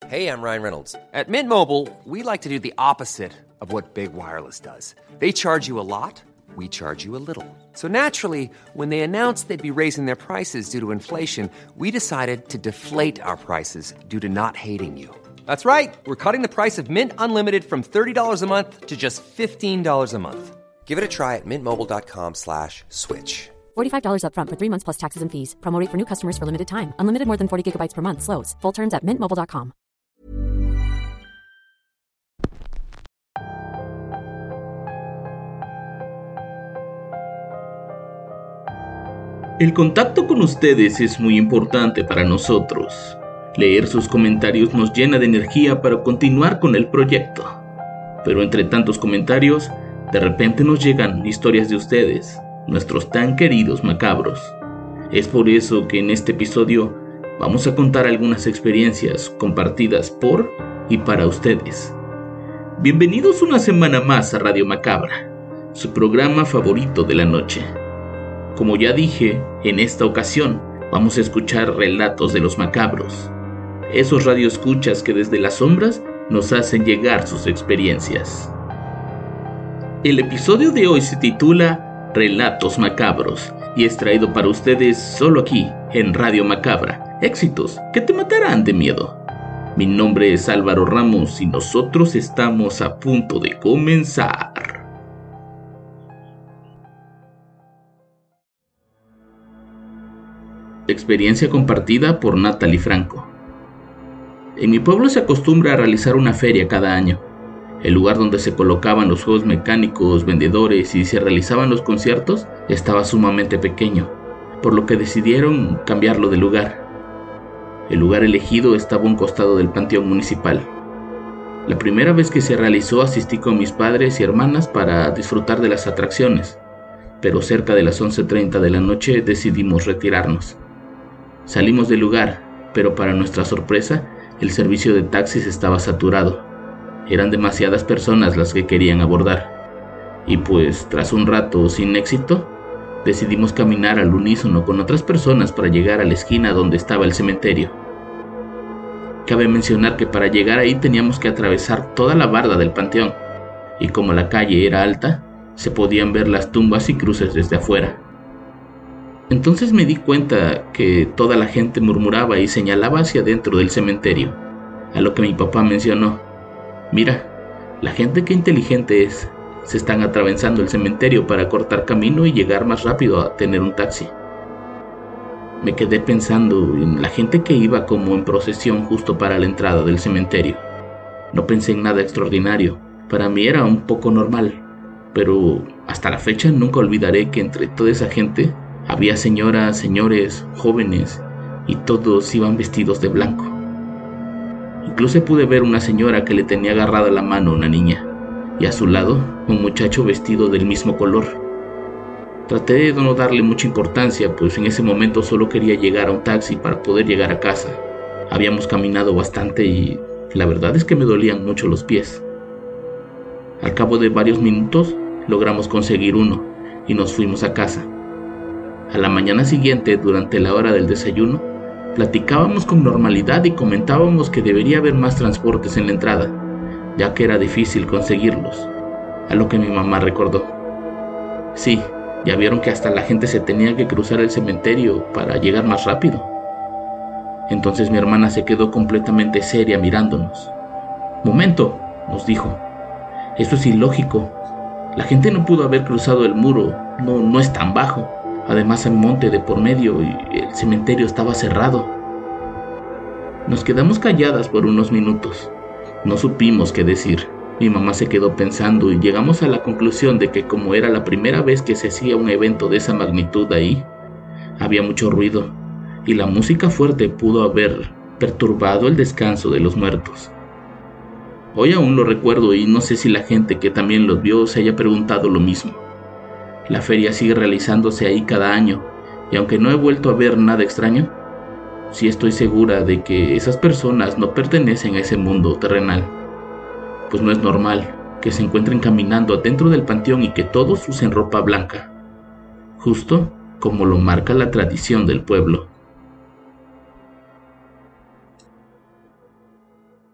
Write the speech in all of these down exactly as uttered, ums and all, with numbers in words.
Hey, I'm Ryan Reynolds. At Mint Mobile, we like to do the opposite of what Big Wireless does. They charge you a lot, we charge you a little. So naturally, when they announced they'd be raising their prices due to inflation, we decided to deflate our prices due to not hating you. That's right. We're cutting the price of Mint Unlimited from thirty dollars a month to just fifteen dollars a month. Give it a try at mintmobile.com slash switch. forty-five dollars up front for three months plus taxes and fees. Promo rate for new customers for limited time. Unlimited more than forty gigabytes per month. Slows full terms at mint mobile dot com. El contacto con ustedes es muy importante para nosotros. Leer sus comentarios nos llena de energía para continuar con el proyecto. Pero entre tantos comentarios, de repente nos llegan historias de ustedes, nuestros tan queridos macabros. Es por eso que en este episodio vamos a contar algunas experiencias compartidas por y para ustedes. Bienvenidos una semana más a Radio Macabra, su programa favorito de la noche. Como ya dije, en esta ocasión vamos a escuchar relatos de los macabros, esos radioescuchas que desde las sombras nos hacen llegar sus experiencias. El episodio de hoy se titula Relatos Macabros y es traído para ustedes solo aquí en Radio Macabra, éxitos que te matarán de miedo. Mi nombre es Álvaro Ramos y nosotros estamos a punto de comenzar. Experiencia compartida por Natalie Franco. En mi pueblo se acostumbra a realizar una feria cada año. El lugar donde se colocaban los juegos mecánicos, vendedores y se realizaban los conciertos estaba sumamente pequeño, por lo que decidieron cambiarlo de lugar. El lugar elegido estaba a un costado del panteón municipal. La primera vez que se realizó asistí con mis padres y hermanas para disfrutar de las atracciones, pero cerca de las once treinta de la noche decidimos retirarnos. Salimos del lugar, pero para nuestra sorpresa, el servicio de taxis estaba saturado. Eran demasiadas personas las que querían abordar. Y pues, tras un rato sin éxito, decidimos caminar al unísono con otras personas para llegar a la esquina donde estaba el cementerio. Cabe mencionar que para llegar ahí teníamos que atravesar toda la barda del panteón, y como la calle era alta, se podían ver las tumbas y cruces desde afuera. Entonces me di cuenta que toda la gente murmuraba y señalaba hacia adentro del cementerio, a lo que mi papá mencionó: mira, la gente qué inteligente es, se están atravesando el cementerio para cortar camino y llegar más rápido a tener un taxi. Me quedé pensando en la gente que iba como en procesión justo para la entrada del cementerio. No pensé en nada extraordinario, para mí era un poco normal, pero hasta la fecha nunca olvidaré que entre toda esa gente había señoras, señores, jóvenes, y todos iban vestidos de blanco. Incluso pude ver una señora que le tenía agarrada la mano a una niña, y a su lado un muchacho vestido del mismo color. Traté de no darle mucha importancia, pues en ese momento solo quería llegar a un taxi para poder llegar a casa. Habíamos caminado bastante y la verdad es que me dolían mucho los pies. Al cabo de varios minutos logramos conseguir uno y nos fuimos a casa. A la mañana siguiente, durante la hora del desayuno, platicábamos con normalidad y comentábamos que debería haber más transportes en la entrada, ya que era difícil conseguirlos, a lo que mi mamá recordó: sí, ya vieron que hasta la gente se tenía que cruzar el cementerio para llegar más rápido. Entonces mi hermana se quedó completamente seria mirándonos. Momento, nos dijo, eso es ilógico. La gente no pudo haber cruzado el muro, no, no es tan bajo. Además hay monte de por medio y el cementerio estaba cerrado. Nos quedamos calladas por unos minutos. No supimos qué decir. Mi mamá se quedó pensando y llegamos a la conclusión de que como era la primera vez que se hacía un evento de esa magnitud ahí, había mucho ruido y la música fuerte pudo haber perturbado el descanso de los muertos. Hoy aún lo recuerdo y no sé si la gente que también los vio se haya preguntado lo mismo. La feria sigue realizándose ahí cada año, y aunque no he vuelto a ver nada extraño, sí estoy segura de que esas personas no pertenecen a ese mundo terrenal, pues no es normal que se encuentren caminando adentro del panteón y que todos usen ropa blanca, justo como lo marca la tradición del pueblo.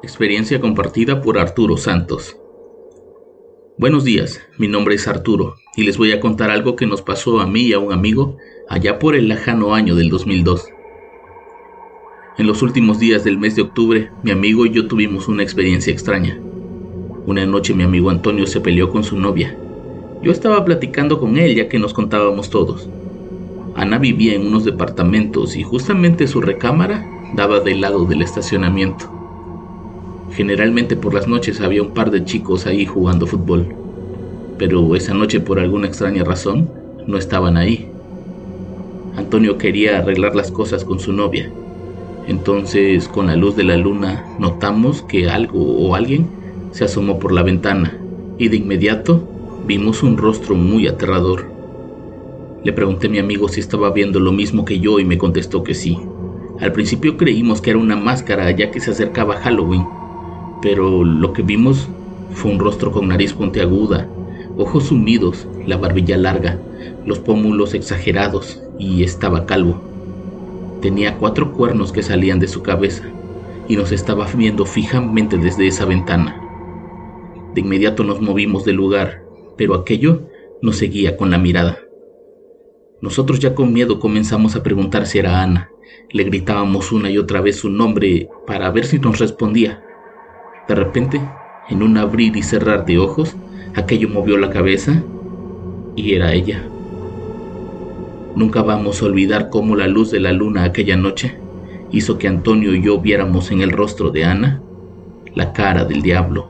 Experiencia compartida por Arturo Santos. Buenos días, mi nombre es Arturo y les voy a contar algo que nos pasó a mí y a un amigo allá por el lejano año del dos mil dos. En los últimos días del mes de octubre, mi amigo y yo tuvimos una experiencia extraña. Una noche mi amigo Antonio se peleó con su novia. Yo estaba platicando con él ya que nos contábamos todos. Ana vivía en unos departamentos y justamente su recámara daba del lado del estacionamiento. Generalmente por las noches había un par de chicos ahí jugando fútbol, pero esa noche por alguna extraña razón no estaban ahí. Antonio quería arreglar las cosas con su novia, entonces con la luz de la luna notamos que algo o alguien se asomó por la ventana y de inmediato vimos un rostro muy aterrador. Le pregunté a mi amigo si estaba viendo lo mismo que yo y me contestó que sí. Al principio creímos que era una máscara ya que se acercaba Halloween, pero lo que vimos fue un rostro con nariz puntiaguda, ojos sumidos, la barbilla larga, los pómulos exagerados y estaba calvo. Tenía cuatro cuernos que salían de su cabeza y nos estaba viendo fijamente desde esa ventana. De inmediato nos movimos del lugar, pero aquello nos seguía con la mirada. Nosotros ya con miedo comenzamos a preguntar si era Ana. Le gritábamos una y otra vez su nombre para ver si nos respondía. De repente, en un abrir y cerrar de ojos, aquello movió la cabeza y era ella. Nunca vamos a olvidar cómo la luz de la luna aquella noche hizo que Antonio y yo viéramos en el rostro de Ana la cara del diablo.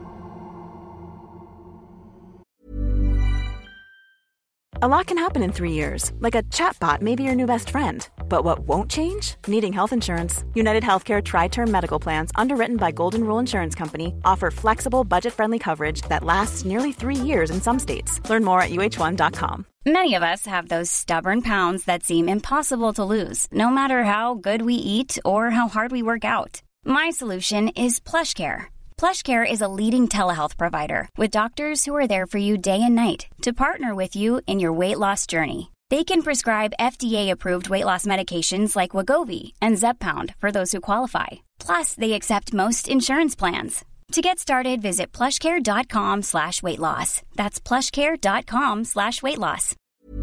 A lot can happen in three years, like a chatbot may be your new best friend. But what won't change? Needing health insurance. United Healthcare Tri-Term Medical Plans, underwritten by Golden Rule Insurance Company, offer flexible, budget-friendly coverage that lasts nearly three years in some states. Learn more at U H one dot com. Many of us have those stubborn pounds that seem impossible to lose, no matter how good we eat or how hard we work out. My solution is PlushCare. PlushCare is a leading telehealth provider with doctors who are there for you day and night to partner with you in your weight loss journey. They can prescribe F D A-approved weight loss medications like Wegovy and Zepbound for those who qualify. Plus, they accept most insurance plans. To get started, visit plushcare.com slash weight loss. That's plushcare.com slash weight loss.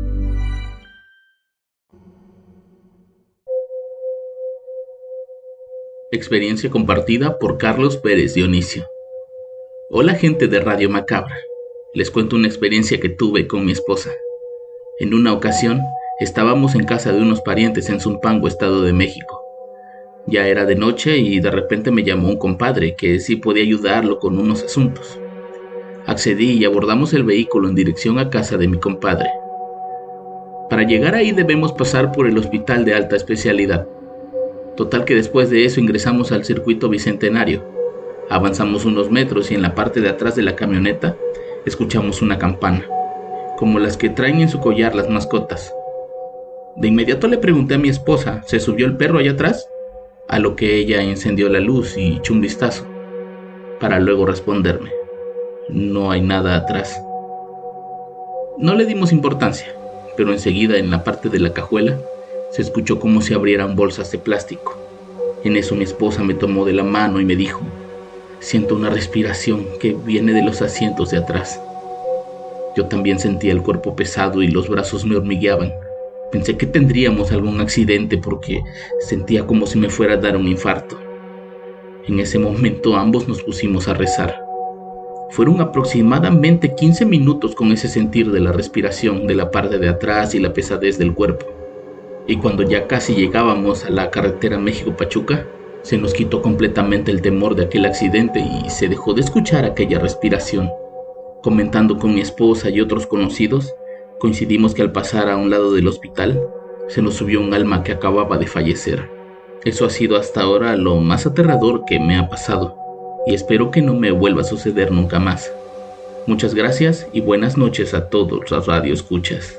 Experiencia compartida por Carlos Pérez Dionisio. Hola gente de Radio Macabra. Les cuento una experiencia que tuve con mi esposa. En una ocasión, estábamos en casa de unos parientes en Zumpango, Estado de México. Ya era de noche y de repente me llamó un compadre que sí podía ayudarlo con unos asuntos. Accedí y abordamos el vehículo en dirección a casa de mi compadre. Para llegar ahí debemos pasar por el hospital de alta especialidad. Total que después de eso ingresamos al circuito bicentenario. Avanzamos unos metros y en la parte de atrás de la camioneta escuchamos una campana, como las que traen en su collar las mascotas. De inmediato le pregunté a mi esposa, ¿se subió el perro allá atrás? A lo que ella encendió la luz y echó un vistazo, para luego responderme, no hay nada atrás. No le dimos importancia, pero enseguida en la parte de la cajuela se escuchó como si abrieran bolsas de plástico. En eso mi esposa me tomó de la mano y me dijo, siento una respiración que viene de los asientos de atrás. Yo también sentía el cuerpo pesado y los brazos me hormigueaban. Pensé que tendríamos algún accidente porque sentía como si me fuera a dar un infarto. En ese momento ambos nos pusimos a rezar. Fueron aproximadamente quince minutos con ese sentir de la respiración de la parte de atrás y la pesadez del cuerpo. Y cuando ya casi llegábamos a la carretera México-Pachuca, se nos quitó completamente el temor de aquel accidente y se dejó de escuchar aquella respiración. Comentando con mi esposa y otros conocidos, coincidimos que al pasar a un lado del hospital, se nos subió un alma que acababa de fallecer. Eso ha sido hasta ahora lo más aterrador que me ha pasado, y espero que no me vuelva a suceder nunca más. Muchas gracias y buenas noches a todos los radioescuchas.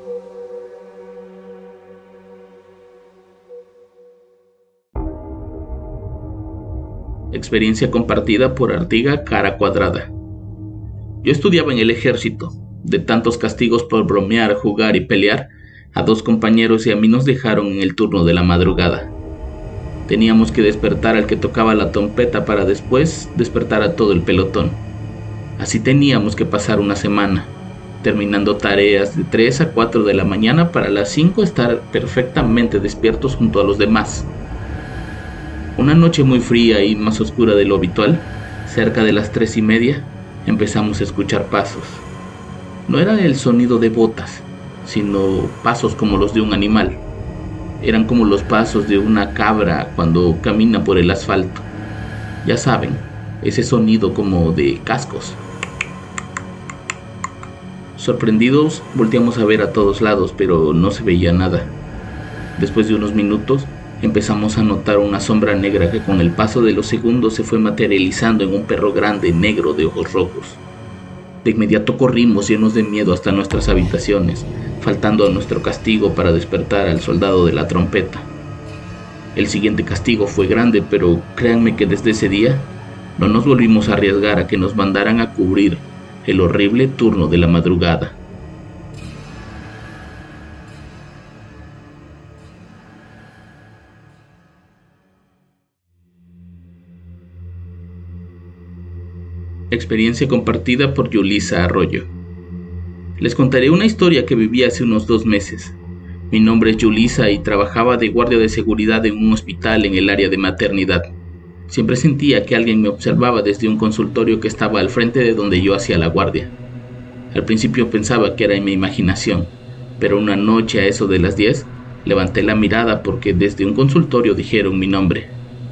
Experiencia compartida por Artiga Cara Cuadrada. Yo estudiaba en el ejército. De tantos castigos por bromear, jugar y pelear, a dos compañeros y a mí nos dejaron en el turno de la madrugada. Teníamos que despertar al que tocaba la trompeta para después despertar a todo el pelotón. Así teníamos que pasar una semana, terminando tareas de tres a cuatro de la mañana para las cinco estar perfectamente despiertos junto a los demás. Una noche muy fría y más oscura de lo habitual, cerca de las tres y media, empezamos a escuchar pasos. No era el sonido de botas, sino pasos como los de un animal. Eran como los pasos de una cabra cuando camina por el asfalto. Ya saben, ese sonido como de cascos. Sorprendidos, volteamos a ver a todos lados, pero no se veía nada. Después de unos minutos, empezamos a notar una sombra negra que con el paso de los segundos se fue materializando en un perro grande, negro, de ojos rojos. De inmediato corrimos llenos de miedo hasta nuestras habitaciones, faltando a nuestro castigo para despertar al soldado de la trompeta. El siguiente castigo fue grande, pero créanme que desde ese día no nos volvimos a arriesgar a que nos mandaran a cubrir el horrible turno de la madrugada. Experiencia compartida por Yulisa Arroyo. Les contaré una historia que viví hace unos dos meses. Mi nombre es Yulisa y trabajaba de guardia de seguridad en un hospital en el área de maternidad. Siempre sentía que alguien me observaba desde un consultorio que estaba al frente de donde yo hacía la guardia. Al principio pensaba que era en mi imaginación, pero una noche a eso de las diez, levanté la mirada porque desde un consultorio dijeron mi nombre.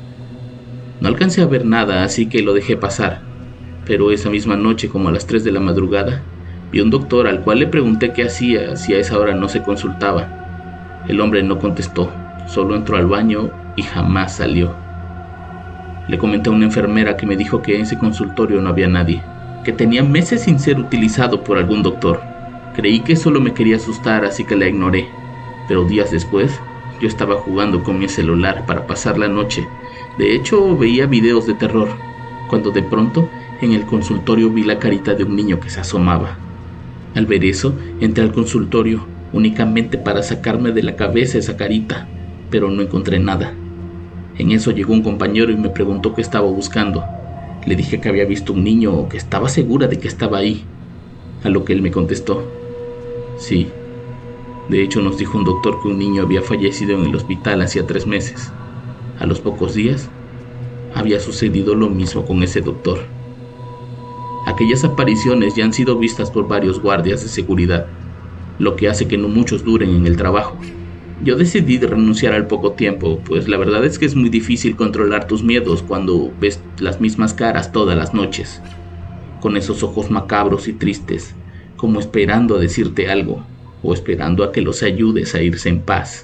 No alcancé a ver nada, así que lo dejé pasar. Pero esa misma noche, como a las tres de la madrugada, vi a un doctor al cual le pregunté qué hacía si a esa hora no se consultaba. El hombre no contestó, solo entró al baño y jamás salió. Le comenté a una enfermera que me dijo que en ese consultorio no había nadie, que tenía meses sin ser utilizado por algún doctor. Creí que solo me quería asustar, así que la ignoré, pero días después yo estaba jugando con mi celular para pasar la noche. De hecho, veía videos de terror, cuando de pronto en el consultorio vi la carita de un niño que se asomaba. Al ver eso, entré al consultorio únicamente para sacarme de la cabeza esa carita, pero no encontré nada. En eso llegó un compañero y me preguntó qué estaba buscando. Le dije que había visto un niño o que estaba segura de que estaba ahí, a lo que él me contestó: sí, de hecho nos dijo un doctor que un niño había fallecido en el hospital hacía tres meses. A los pocos días, había sucedido lo mismo con ese doctor. Aquellas apariciones ya han sido vistas por varios guardias de seguridad, lo que hace que no muchos duren en el trabajo. Yo decidí renunciar al poco tiempo, pues la verdad es que es muy difícil controlar tus miedos cuando ves las mismas caras todas las noches, con esos ojos macabros y tristes, como esperando a decirte algo, o esperando a que los ayudes a irse en paz.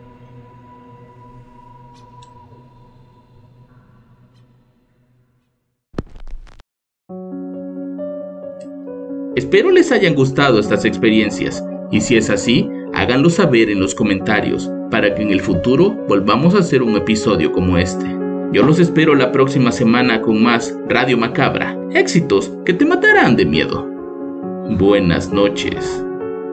Espero les hayan gustado estas experiencias, y si es así, háganlo saber en los comentarios, para que en el futuro volvamos a hacer un episodio como este. Yo los espero la próxima semana con más Radio Macabra, éxitos que te matarán de miedo. Buenas noches.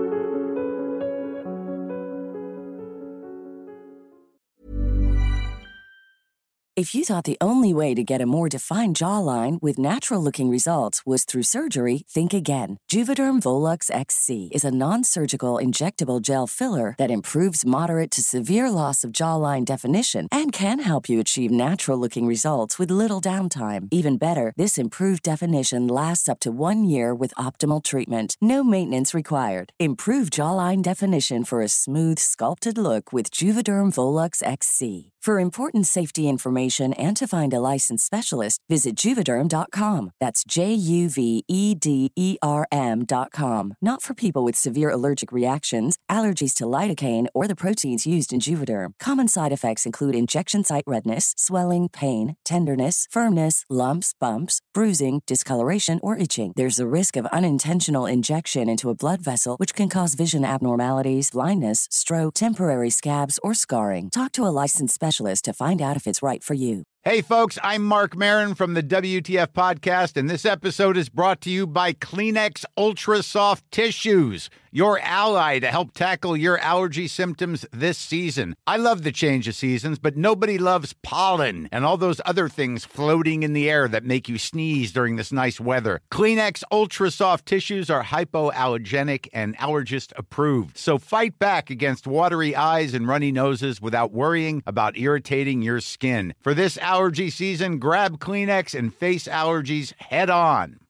If you thought the only way to get a more defined jawline with natural-looking results was through surgery, think again. Juvederm Volux X C is a non-surgical injectable gel filler that improves moderate to severe loss of jawline definition and can help you achieve natural-looking results with little downtime. Even better, this improved definition lasts up to one year with optimal treatment. No maintenance required. Improve jawline definition for a smooth, sculpted look with Juvederm Volux X C. For important safety information and to find a licensed specialist, visit Juvederm dot com. That's J U V E D E R M dot com. Not for people with severe allergic reactions, allergies to lidocaine, or the proteins used in Juvederm. Common side effects include injection site redness, swelling, pain, tenderness, firmness, lumps, bumps, bruising, discoloration, or itching. There's a risk of unintentional injection into a blood vessel, which can cause vision abnormalities, blindness, stroke, temporary scabs, or scarring. Talk to a licensed specialist to find out if it's right for you. Hey, folks, I'm Mark Maron from the W T F Podcast, and this episode is brought to you by Kleenex Ultra Soft Tissues, your ally to help tackle your allergy symptoms this season. I love the change of seasons, but nobody loves pollen and all those other things floating in the air that make you sneeze during this nice weather. Kleenex Ultra Soft Tissues are hypoallergenic and allergist approved, so fight back against watery eyes and runny noses without worrying about irritating your skin. For this allergy season, grab Kleenex and face allergies head on.